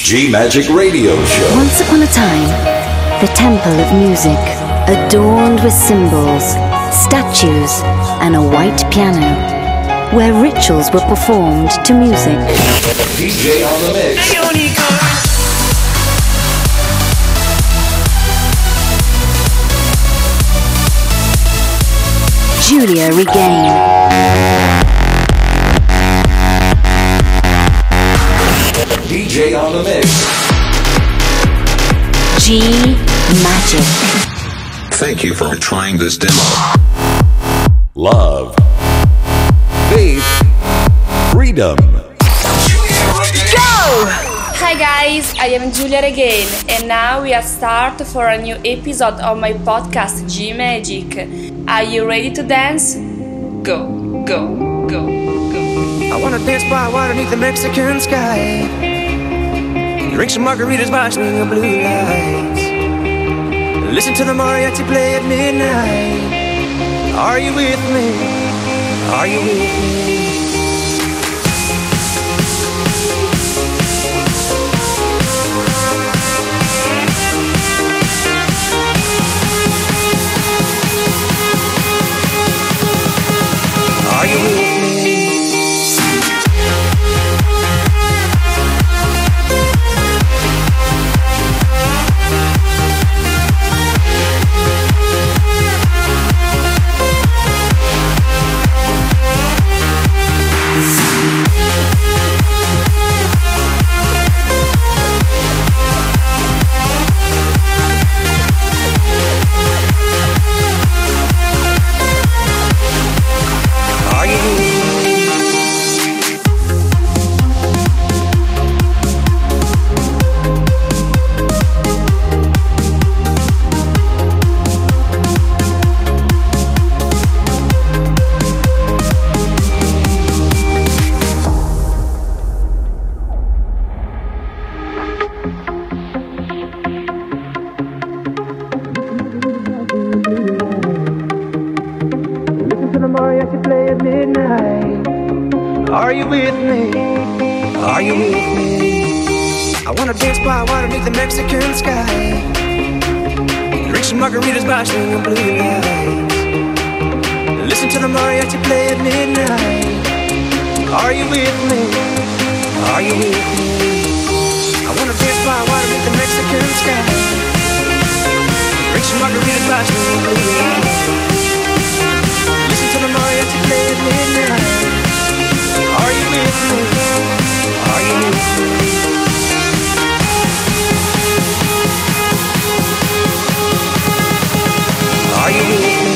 G-Magic Radio Show. Once upon a time, the temple of music, adorned with symbols, statues, and a white piano, where rituals were performed to music. DJ on the mix. Giulia Regain. DJ on the mix. G-Magic. Thank you for trying this demo. Love. Faith. Freedom. Go! Hi guys, I am Giulia Regain and now we are start for a new episode of my podcast G-Magic. Are you ready to dance? Go, go, go, go. I wanna dance by water beneath the Mexican sky. Drink some margaritas by swing of blue lights. Listen to the mariachi play at midnight. Are you with me? Are you with me? Are you with me? Are you with me? Are you with me? I wanna dance by water beneath the Mexican sky. Drink some margaritas by swing of blue lights. Listen to the mariachi play at midnight. Are you with me? Are you with me? I wanna dance by water beneath the Mexican sky. Drink some margaritas by swing of blue lights. Listen to the mariachi play at midnight. Are you with me? Are you with me? Are you with me?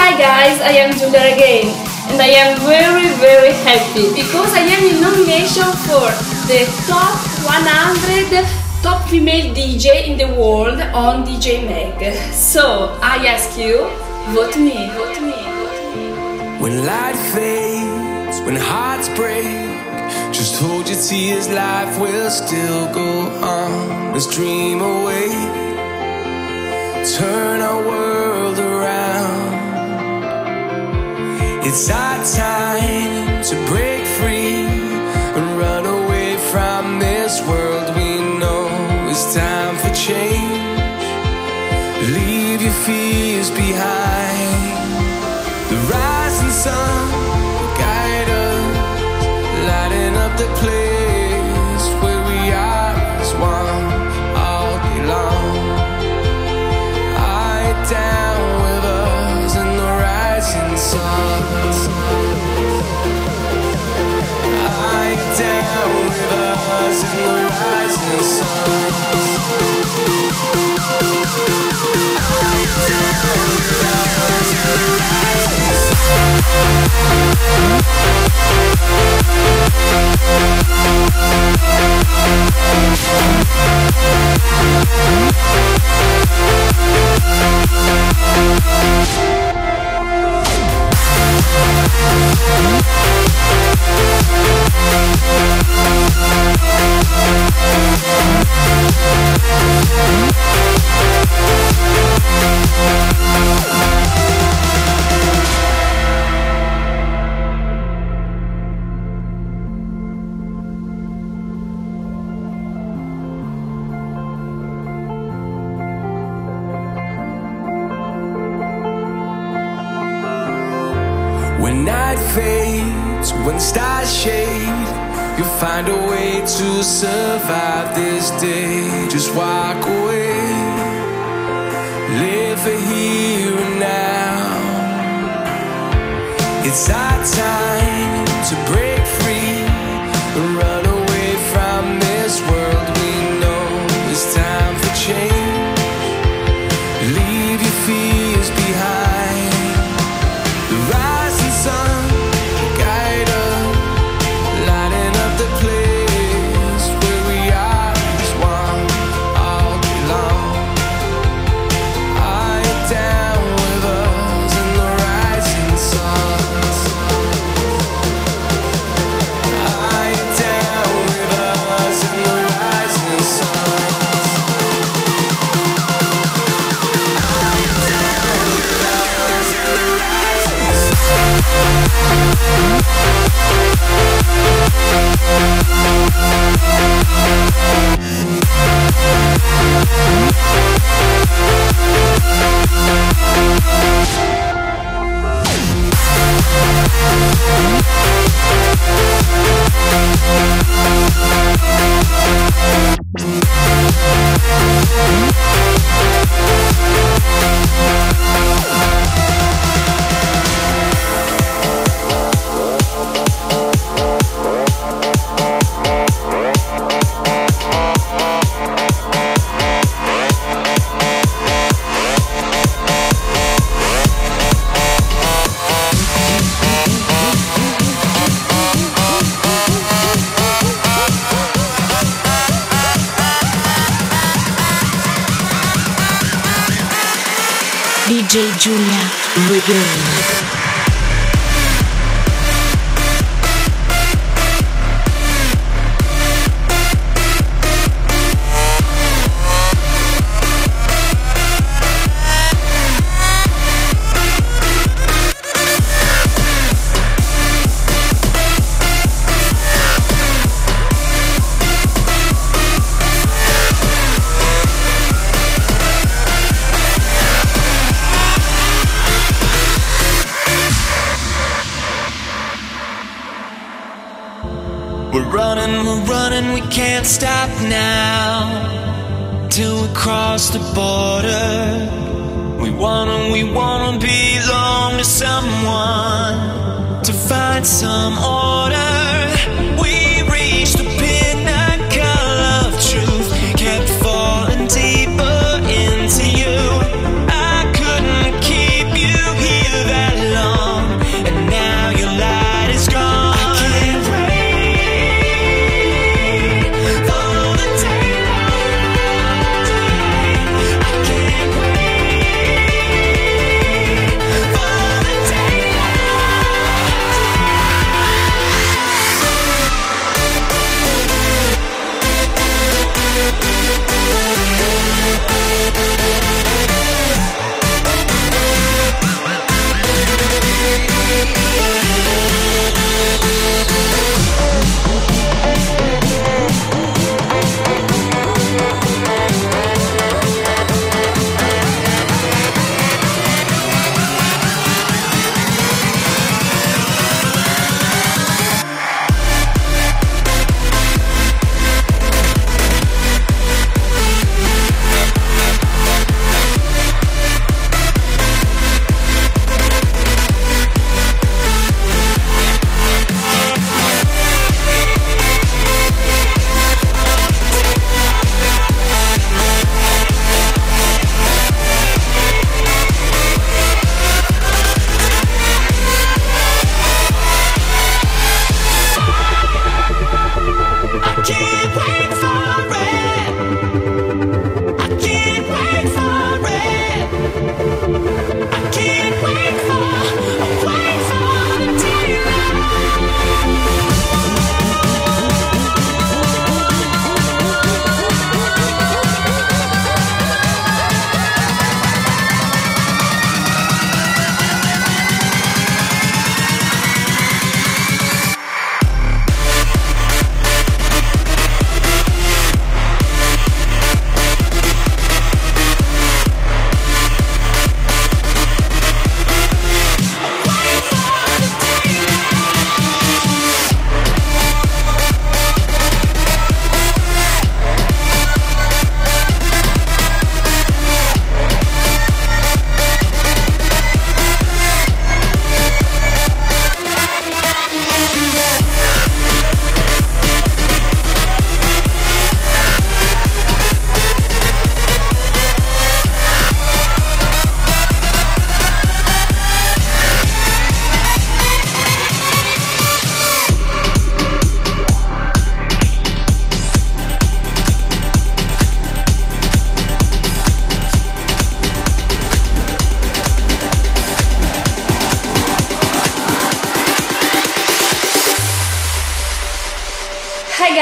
Hi guys, I am Giulia again, and I am very happy because I am in nomination for the top 100 top female DJ in the world on DJ Mag. So I ask you, vote me. When light fades, when hearts break, just hold your tears, life will still go on. Let's dream away, turn our world around. It's our time to break free and run away from this world we know. It's time for change, leave your fears behind. The rising sun will guide us, lighting up the place where we are as one all day long. Eye down with us in the rising sun. Eye down with us in the rising sun. Eye down with us in the rising When night fades, when stars shade, you'll find a way to survive this day. Just walk away, live for here and now. It's our time to break free and run away from this world we know. It's time for change, leave your fears behind. The rising sun will guide us, lighting up the place where we are as one all day long. Eye down with us in the rising sun. Eye down with us in the rising sun. Eye down with us in the rising sun. DJ Giulia Regain. We're running, we can't stop now. Till we cross the border. We wanna belong to someone, to find some order. We reached the pinnacle of truth, kept falling deeper into you. I couldn't keep you here.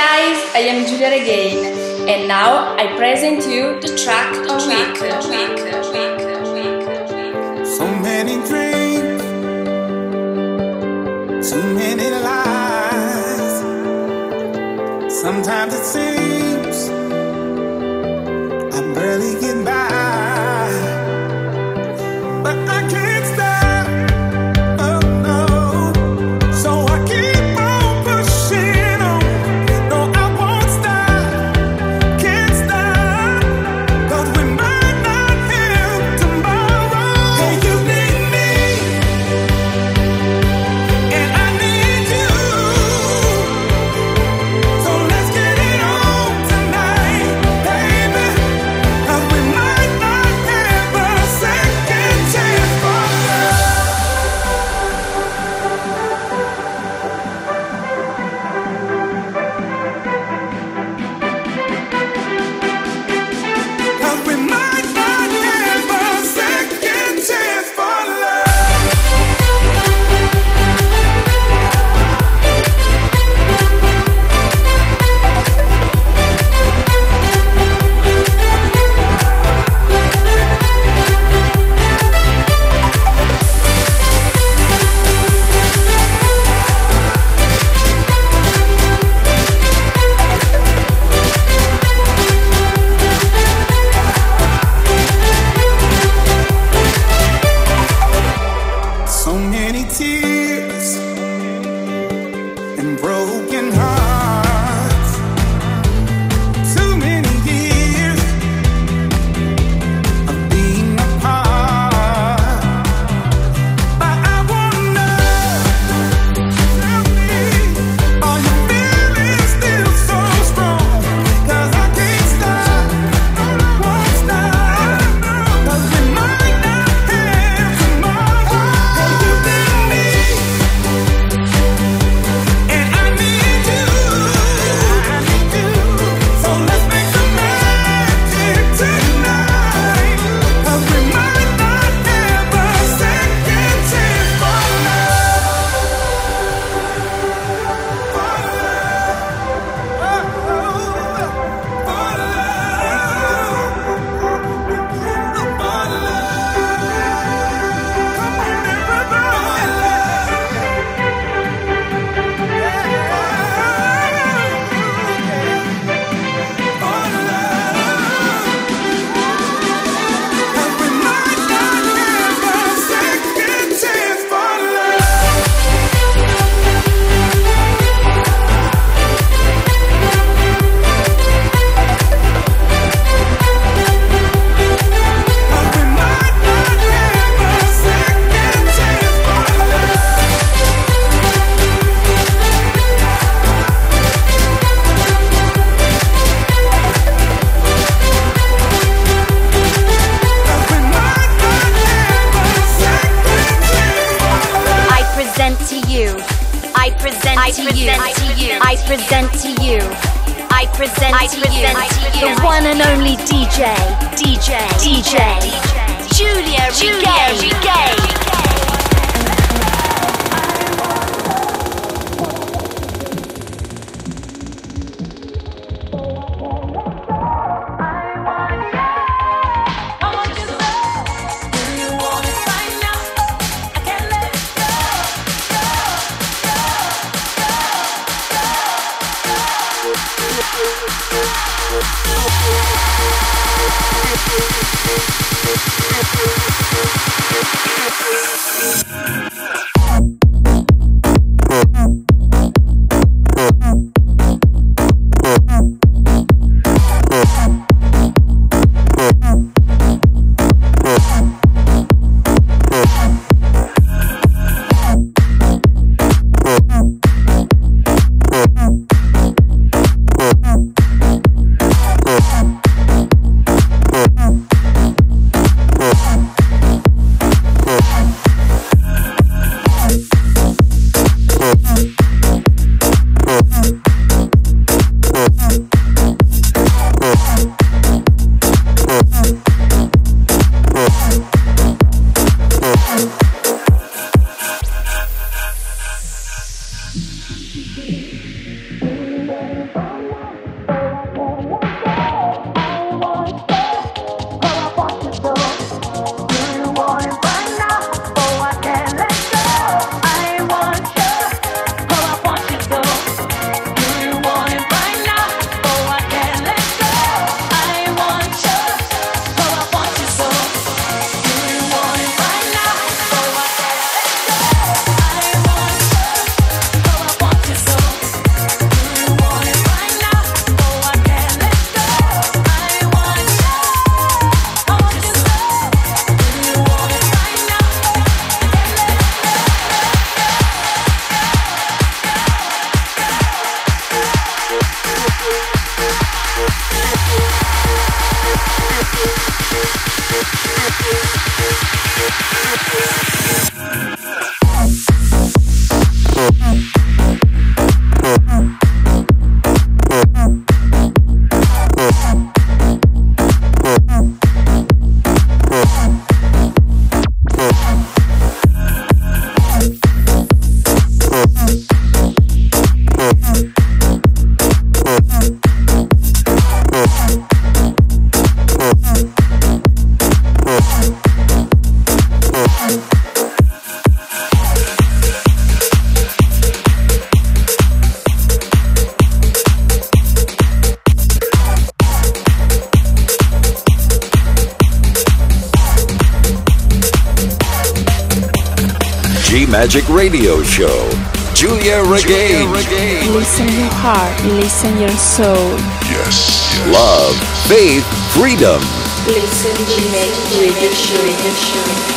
guys, I am Giulia Regain, and now I present you the track of the week. So many dreams, too many lies. Sometimes it seems I barely get by, but I can't stop. Oh no, so I keep on pushing on. No, I won't stop, can't stop, 'cause we might not have tomorrow. Hey, you need me, and I need you. So let's get it on tonight, baby, 'cause we might not have a second chance for love. 'Cause we might not have a second chance for love. So many tears and broken hearts. Too many years of being apart. But I wanna know, tell me, are you feeling still so strong? 'Cause I can't stop, won't stop, 'cause we might not have tomorrow. Hey, you need me, and I need you. So let's make some magic tonight, 'cause we might not have a second chance for love. For love. For love. Come on, I present to you the one and only DJ Giulia Regain. G-Magic Radio Show. Julia Regain. Listen your heart, listen your soul. Yes. Love, faith, freedom. Listen G-Magic Radio Show.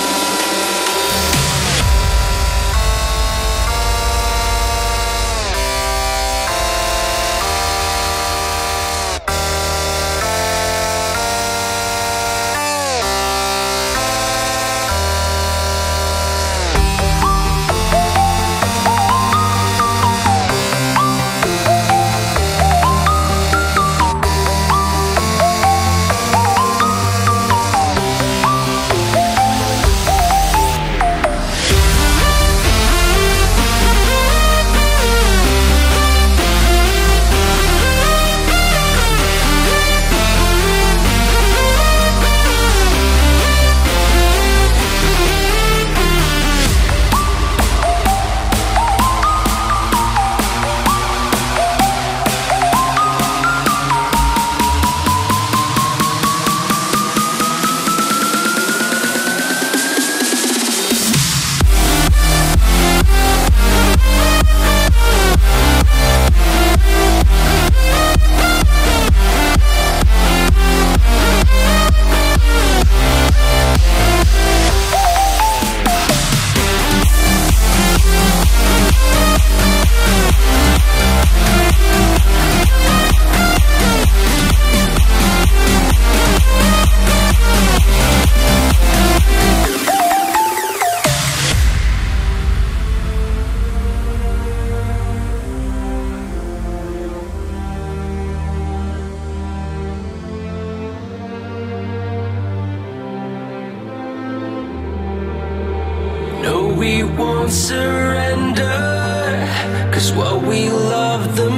We won't surrender, 'cause what we love the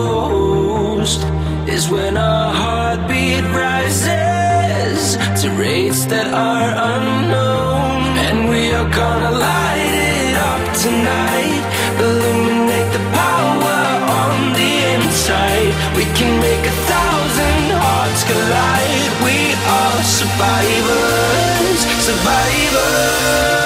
most is when our heartbeat rises to rates that are unknown. And we are gonna light it up tonight, illuminate the power on the inside. We can make 1,000 hearts collide. We are survivors, survivors.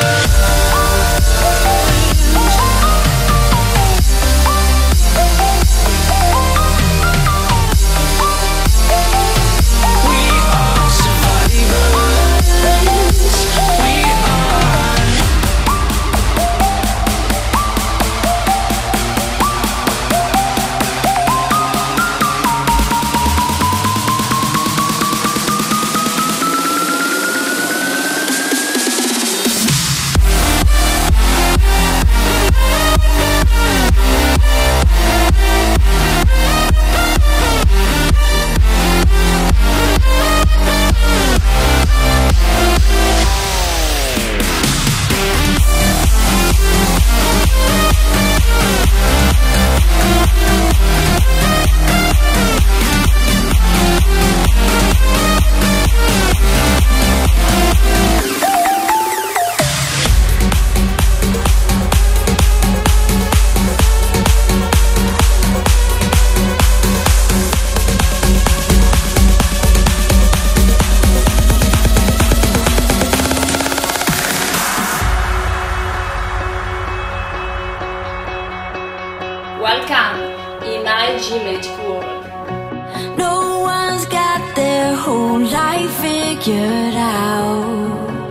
Welcome in my G-Magic world. No one's got their whole life figured out.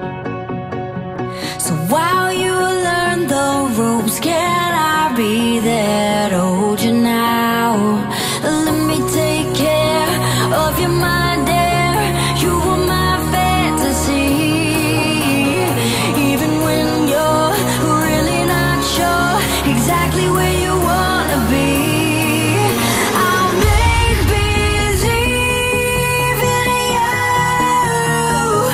So while you learn the ropes, can I be there to hold you now? Let me take care of your mind, dear. You were my fantasy. Even when you're really not sure exactly where you wanna be, I'll make believe in you.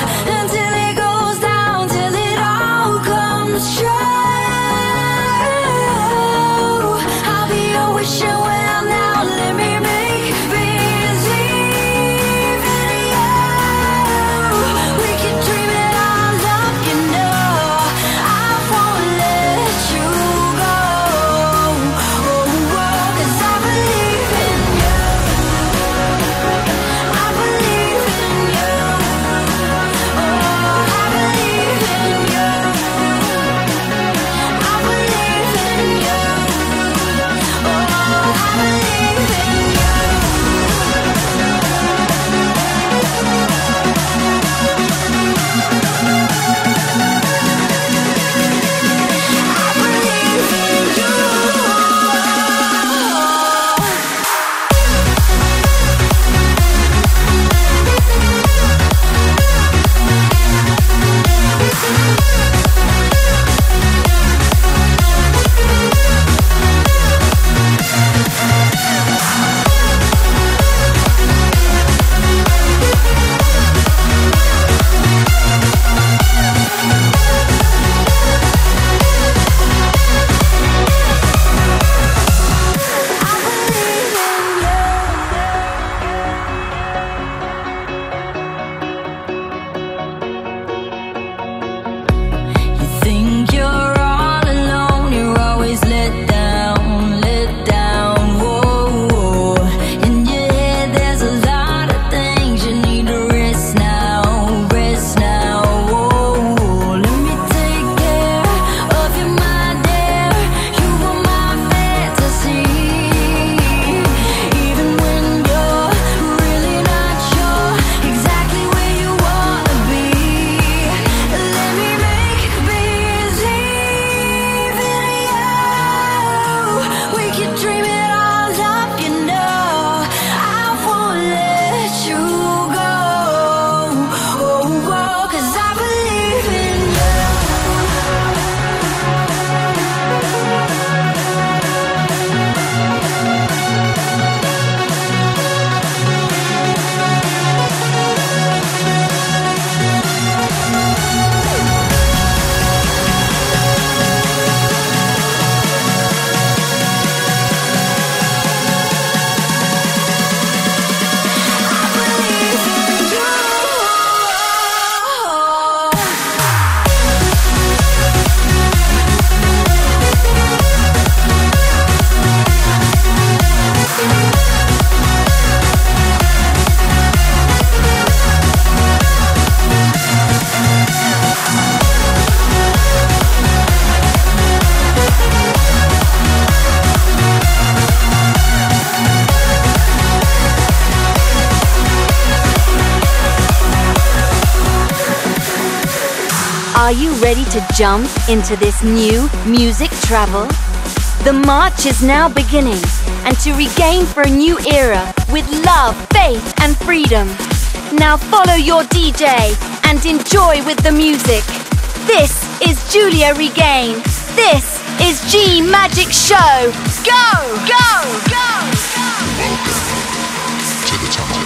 Are you ready to jump into this new music travel? The march is now beginning, and to regain for a new era with love, faith, and freedom. Now follow your DJ and enjoy with the music. This is Giulia Regain. This is G Magic Show. Go, go, go, go. Welcome to the top.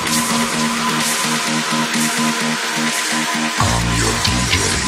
I'm your DJ.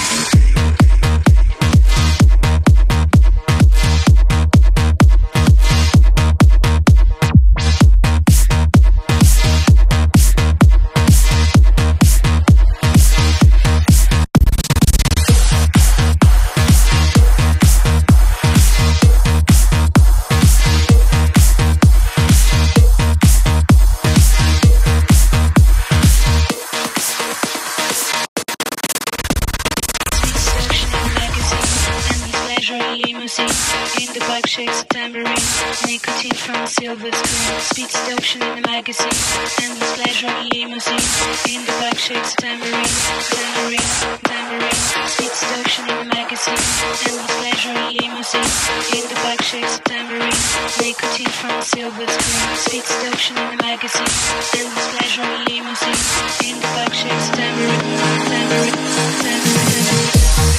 In the bike shakes a tambourine, nicotine from a silver screen, speed seduction in the magazine, endless pleasure limousine. In the bike shakes a tambourine, tambourine, tambourine, speed seduction in the magazine, endless pleasure limousine. In the bike shakes a tambourine, nicotine from a silver screen, speed seduction in the magazine, endless pleasure limousine. In the bike shakes a tambourine, tambourine, tambourine.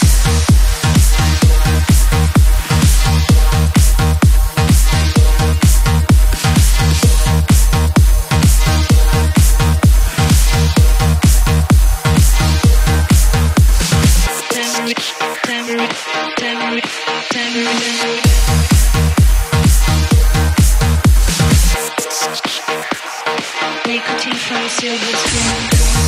Nicotine from a silver screen.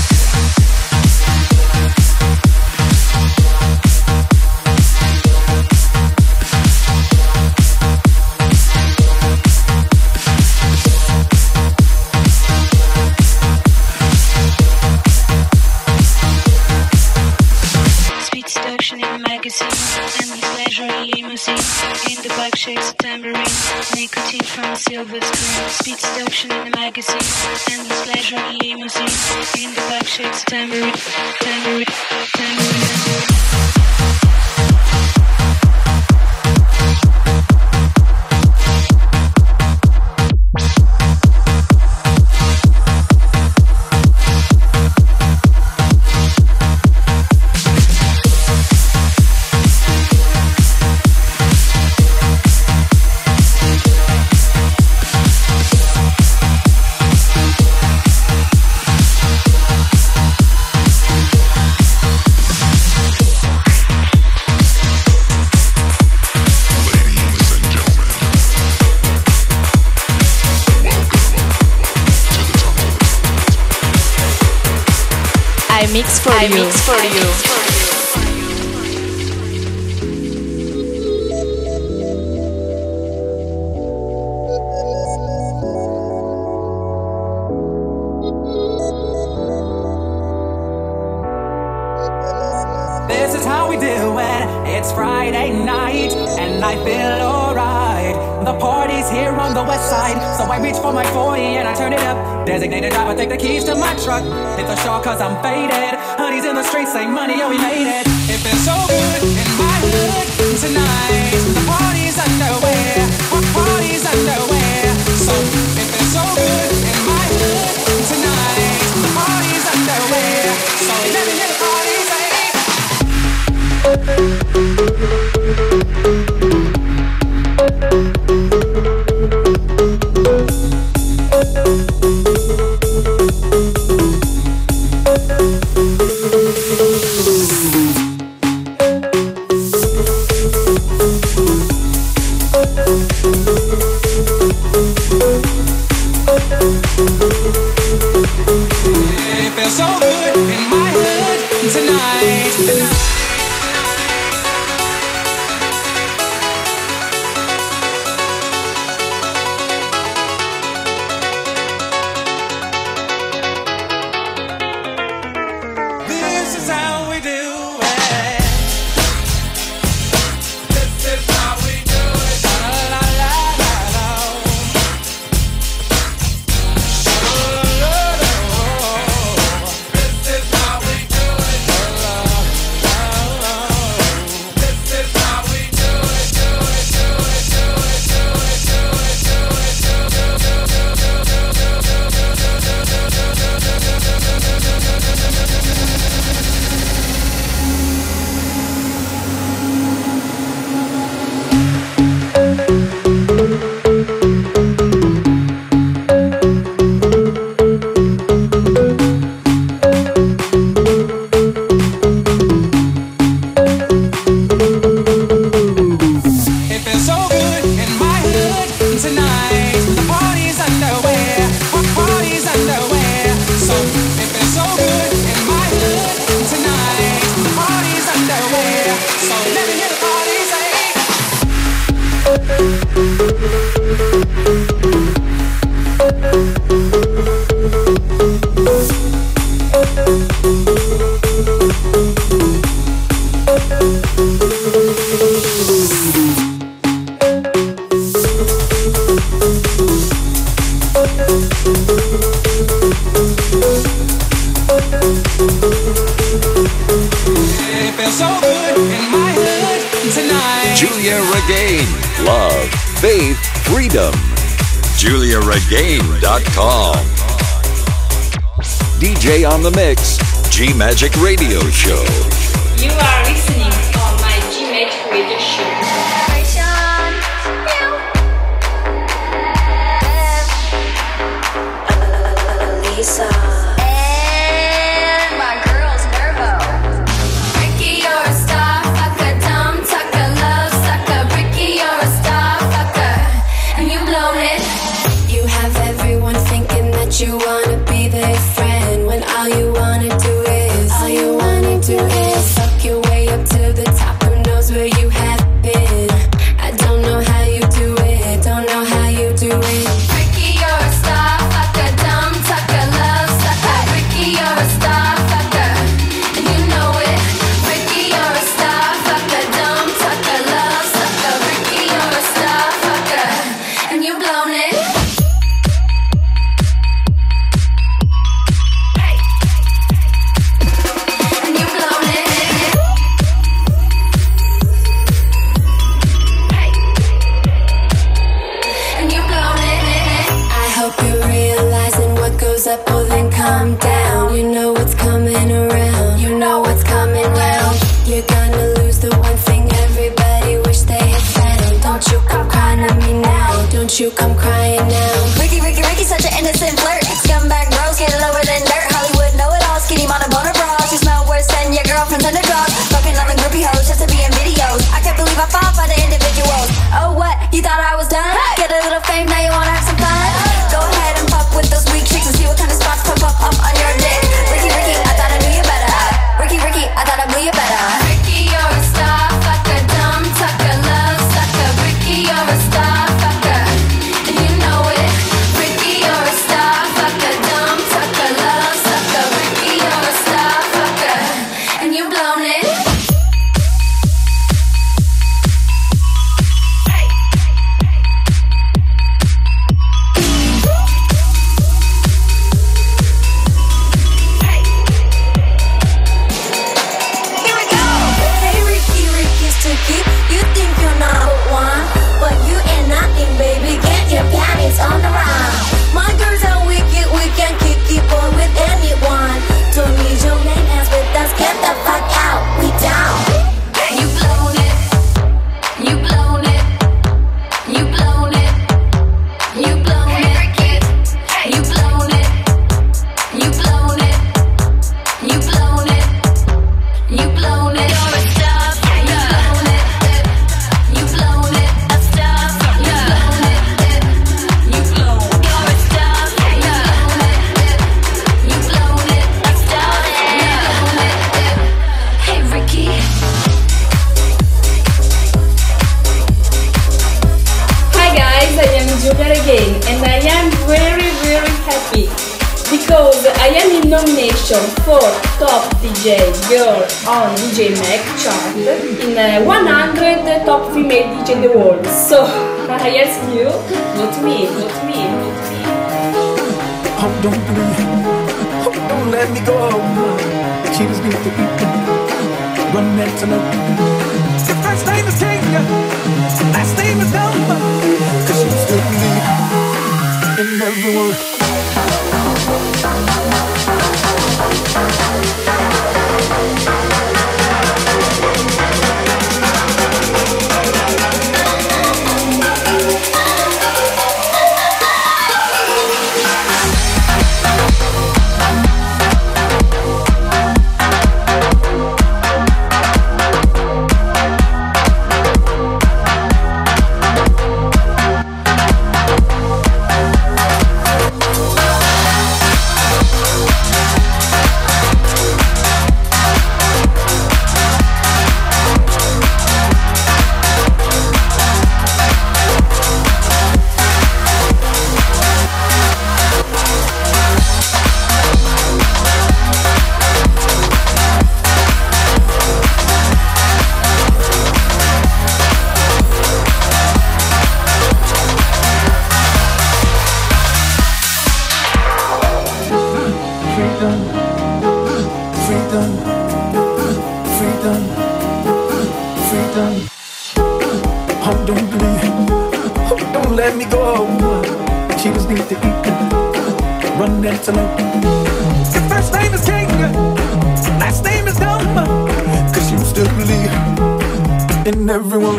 Speed seduction in the magazine, endless pleasure limousine. In the bike shakes a tambourine, nicotine from a silver screen. Speed seduction in the magazine, endless pleasure limousine. In the bike shakes a tambourine, tambourine, tambourine. I mix for you. Mix for you. This is how we do it. It's Friday night and I feel alright. The party's here on the west side, so I reach for my 40 and I turn it up. Designated driver, take the keys to my truck. Hit the shore cause I'm faded. Honey's in the streets, say money, oh we made it. It feels so good in my hood tonight. The party's underway, party's underway. So it feels so good in my hood tonight. The party's underway, so let me hear the party say. It feels so good in my hood tonight. It feels so good in my hood tonight. Julia Regain. Love, faith, freedom. JuliaRegain.com. DJ on the mix. G Magic Radio Show. You are listening on my G Magic Radio Show. Lisa. And my girl's Nervo. Ricky, you're a star fucker, dumb tucker, love sucker. Ricky, you're a star fucker, and you blown it. You have everyone thinking that you wanna be their friend when all you wanna do is suck your way up to the top. Who knows where you have been? I don't know how you do it. Don't know how you do it. Ricky, you're a star fucker, dumb tucker, love sucker. Ricky, you're a star fucker, and you know it. Ricky, you're a star fucker, dumb tucker, love sucker. Ricky, you're a star fucker, and you blown it. And you blown it. And you blown it. I hope you're realizing what goes up will then come down. You know what's coming around. You know what's coming round. You're gonna lose the one thing everybody wish they had found. Don't you come crying to me now. Don't you come crying now. Ricky, Ricky, Ricky, such an innocent flirt. Scumbag bros get lower than dirt. Hollywood know it all. Skinny mama boner bras. You smell worse than your girlfriend's underdog. Fucking on the groupie hoes just to be in videos. I can't believe I fall for the individuals. Oh what? You thought I was done? Get a little fame, now you wanna have some fun? Go ahead and fuck with those weak chicks and see what kind of spots pop up on your dick. Ricky, Ricky, I thought I knew you better. Ricky, Ricky, I thought I blew you better. Ricky, you're a star fucker, dumb tucker, love sucker. Ricky, you're a star fucker, and you know it. Ricky, you're a star fucker, dumb tucker, love sucker. Ricky, you're a star fucker, and you blown it. Here we go. Hey Ricky, Ricky's Tookie. You think you're number one, but you ain't nothing, baby. Get your panties on the run. My girls are wicked, we can kick it on with anyone. Don't need your name as with us. Get the fuck out, we down. You blown it. You blown it. You blown it. You blown it. You blown it. You blown it. You blown it. You blown it. You're a star. You blown it. You blown it. A star. You blown it. You blown. You're a star. You blown it. You blown it. A star. You blown it. Hey Ricky. Hi guys, I am Julia Regain and I am very happy because I am in nomination for Top DJ Girl on DJ Mag chart in 100 top female DJ in the world. So I ask you, vote me. Oh, don't leave. Oh, don't let me go. She just needs to be run that to know. Your first name is Kenya, last name is Delma. Cause she's still me in everyone. freedom, freedom, freedom. Oh, don't leave, don't let me go. She just needs to eat, run antelope. Your first name is King, last name is Dumb, 'cause you still believe in everyone.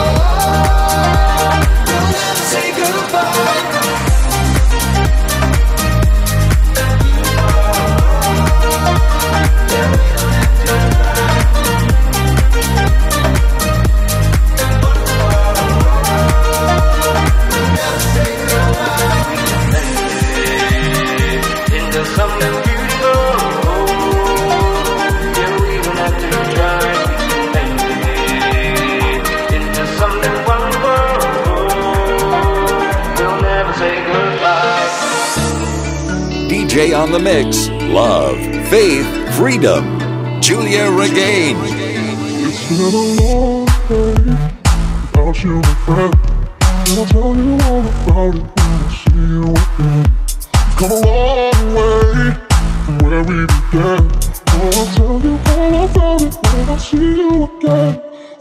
Say goodbye. DJ on the mix, love, faith, freedom. Julia Regain. It's been a long day without you, my friend. And I'll tell you all about it when I see you again. We've come a long way from where we began. Oh, I'll tell you all about it when I see you again.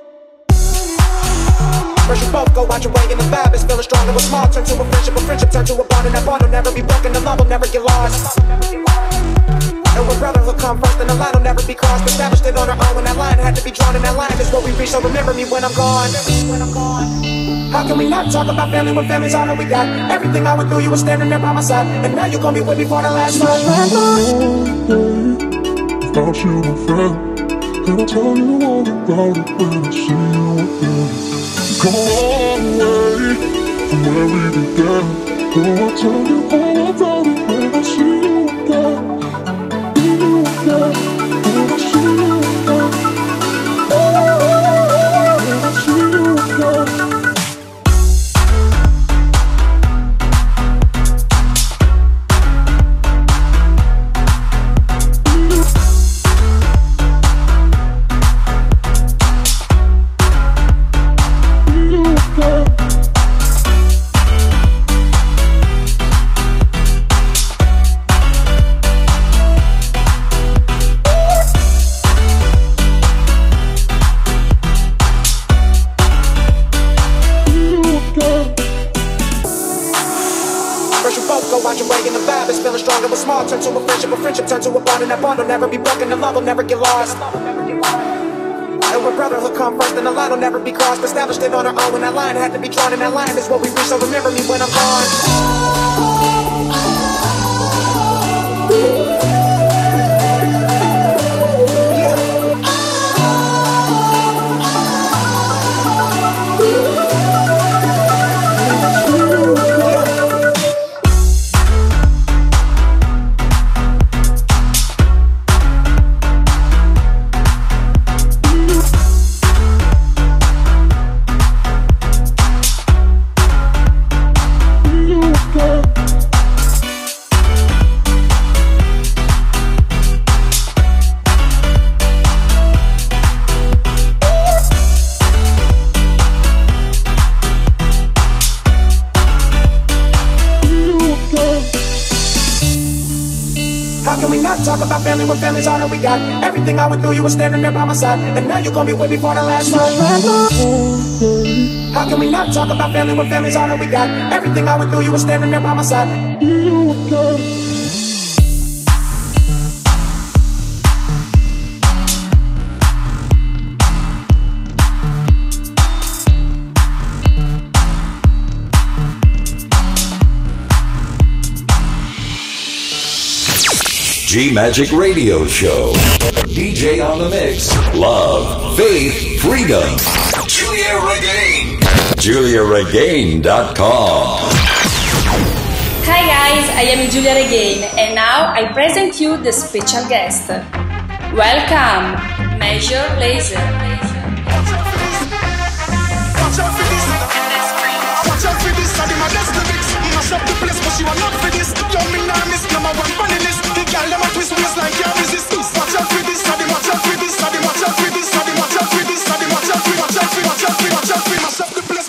First you both go out your way and the vibe is feeling strong. It was small, turn to a friendship turn to a bond. And that bond will never be broken, the love will never get lost. And when brotherhood come first, then the line will never be crossed. Established it on our own, and that line had to be drawn. And that line is what we reach, so remember me when I'm gone. How can we not talk about family when family's all that we got? Everything I went through, you were standing there by my side. And now you're gonna be with me for the last time. Without you, my friend. And I'll tell you all about it when I see you again. Come a long way from where we began. Oh, I'll tell you all about it when I see you again. Friendship turn to a bond, and that bond will never be broken, the love will never get lost. And when brotherhood come first, then the line will never be crossed. Established it on our own, and that line had to be drawn. And that line is what we reach, so remember me when I'm gone. Talk about family when family's all that we got. Everything I went through, you were standing there by my side. And now you're gonna be with me for the last time. How can we not talk about family when family's all that we got? Everything I went through, you were standing there by my side. G-Magic Radio Show. DJ on the mix. Love, faith, freedom. Julia Regain. JuliaRegain.com. Hi guys, I am Julia Regain and now I present you the special guest. Welcome, Major Lazer. Watch out for this, I did my best lyrics. Mash up the place, but she will not for this. Yo, me nah miss, number one funny list. The girl, them a twist waist like can't resist. Watch out for this, I did watch out for this, I did watch out for this, I did watch out for this, I did watch out for, watch out for, watch out for, watch out for, mash up the place.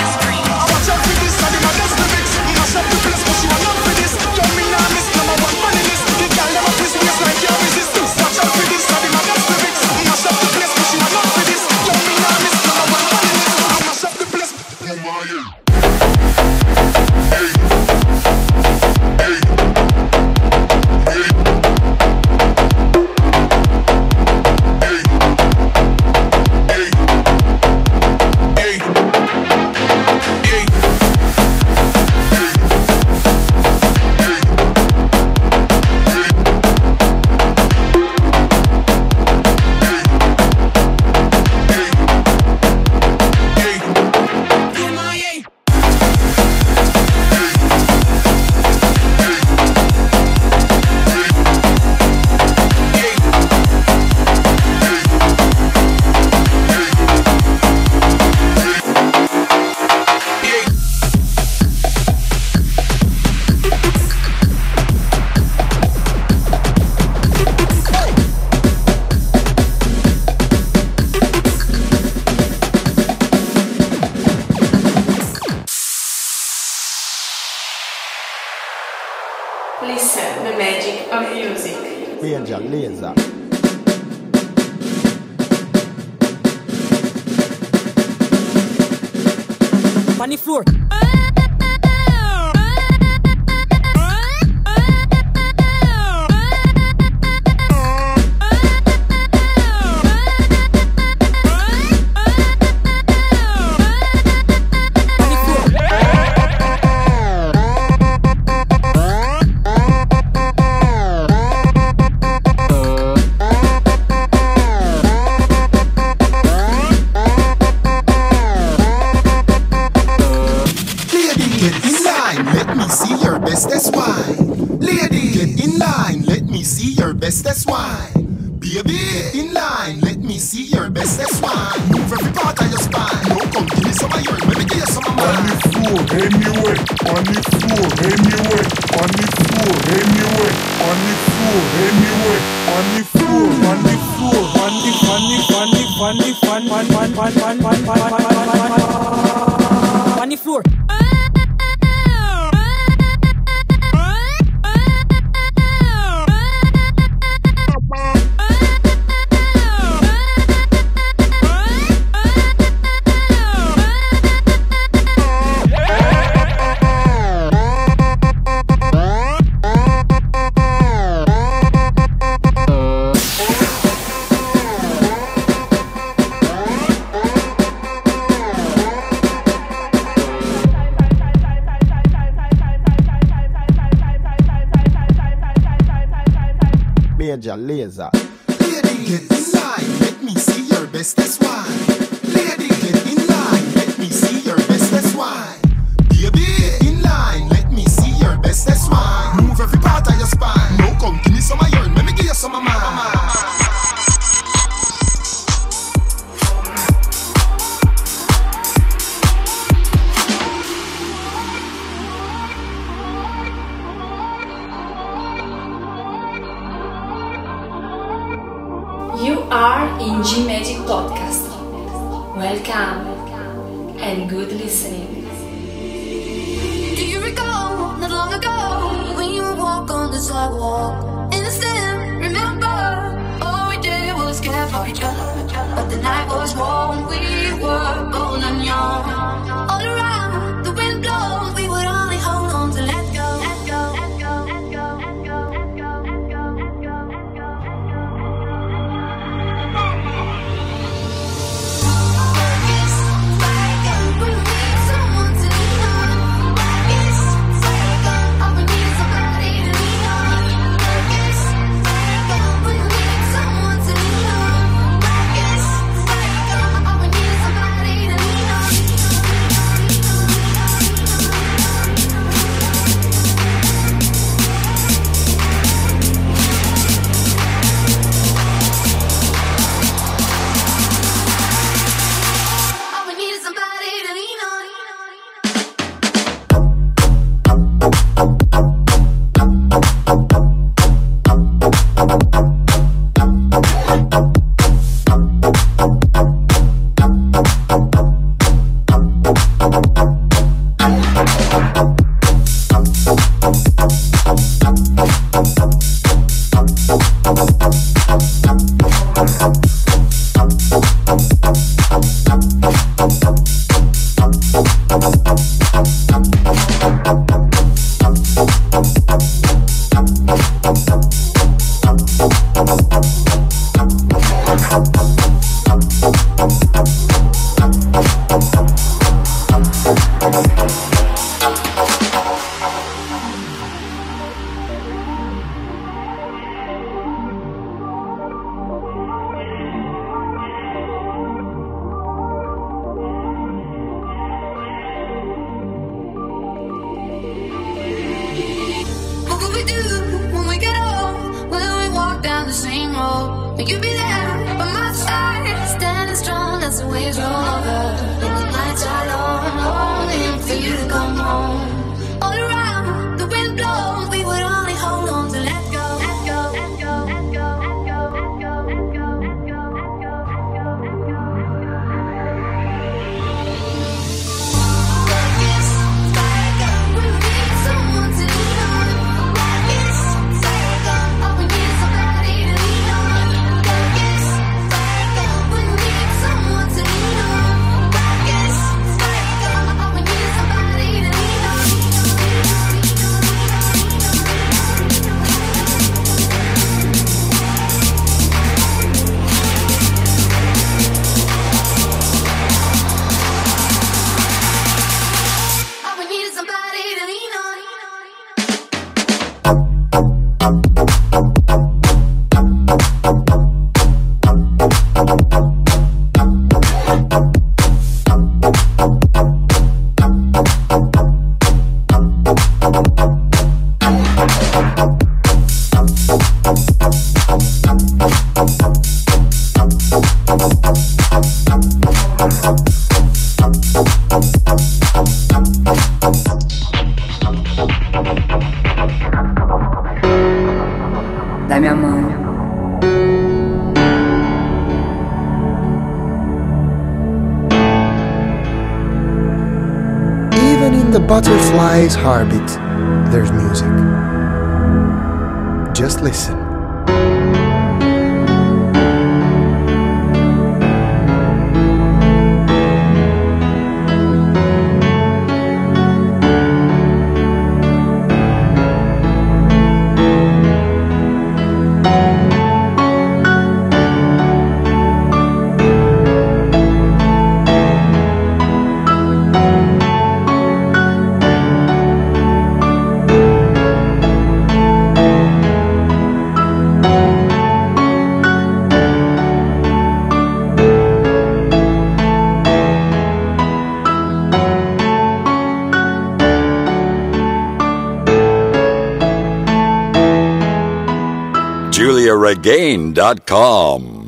Watch out for this, I did my best lyrics. Mash up the place, but she will not for this. Yo, me nah miss, number one funny Freedom Music. Major Lazer. On the floor. That's why, baby, in line. Let me see your best. That's why. Move every part of your spine. No, come give me some of yours. Let me give you some of mine. On the floor, anyway. On the floor, anyway. On the floor, anyway. On the floor, anyway. On the floor, on the floor, on the floor. Major Lazer. Lady, get in line. Let me see your best. That's why. Lady, get in line. Let me see your best. That's why. Baby, in line. Let me see your best. That's why. Move every part of your spine. No, come give me some of yours. Let me give you some of mine. You are in G Magic Podcast. Welcome and good listening. Do you recall not long ago when you would walk on the sidewalk? Innocent, remember? All we did was care for each other. But the night was warm, we were bold and young. All around, the wind blows, we would only hold on to let go. Let go, let go, let go, let go, let go, let go, let go, let go. Will you be there by my side, standing strong as the waves roll over? And the nights are long, longing for you to come home. All around, the wind blows, we would only hold on to let go, let go, let go, let go, let go, let go, let go, let go, let go, let go, Like this, like we need someone to lean on. Like this, like Dai, mi amore. Even in the butterfly's heartbeat, there's music. Just listen. JuliaRegain.com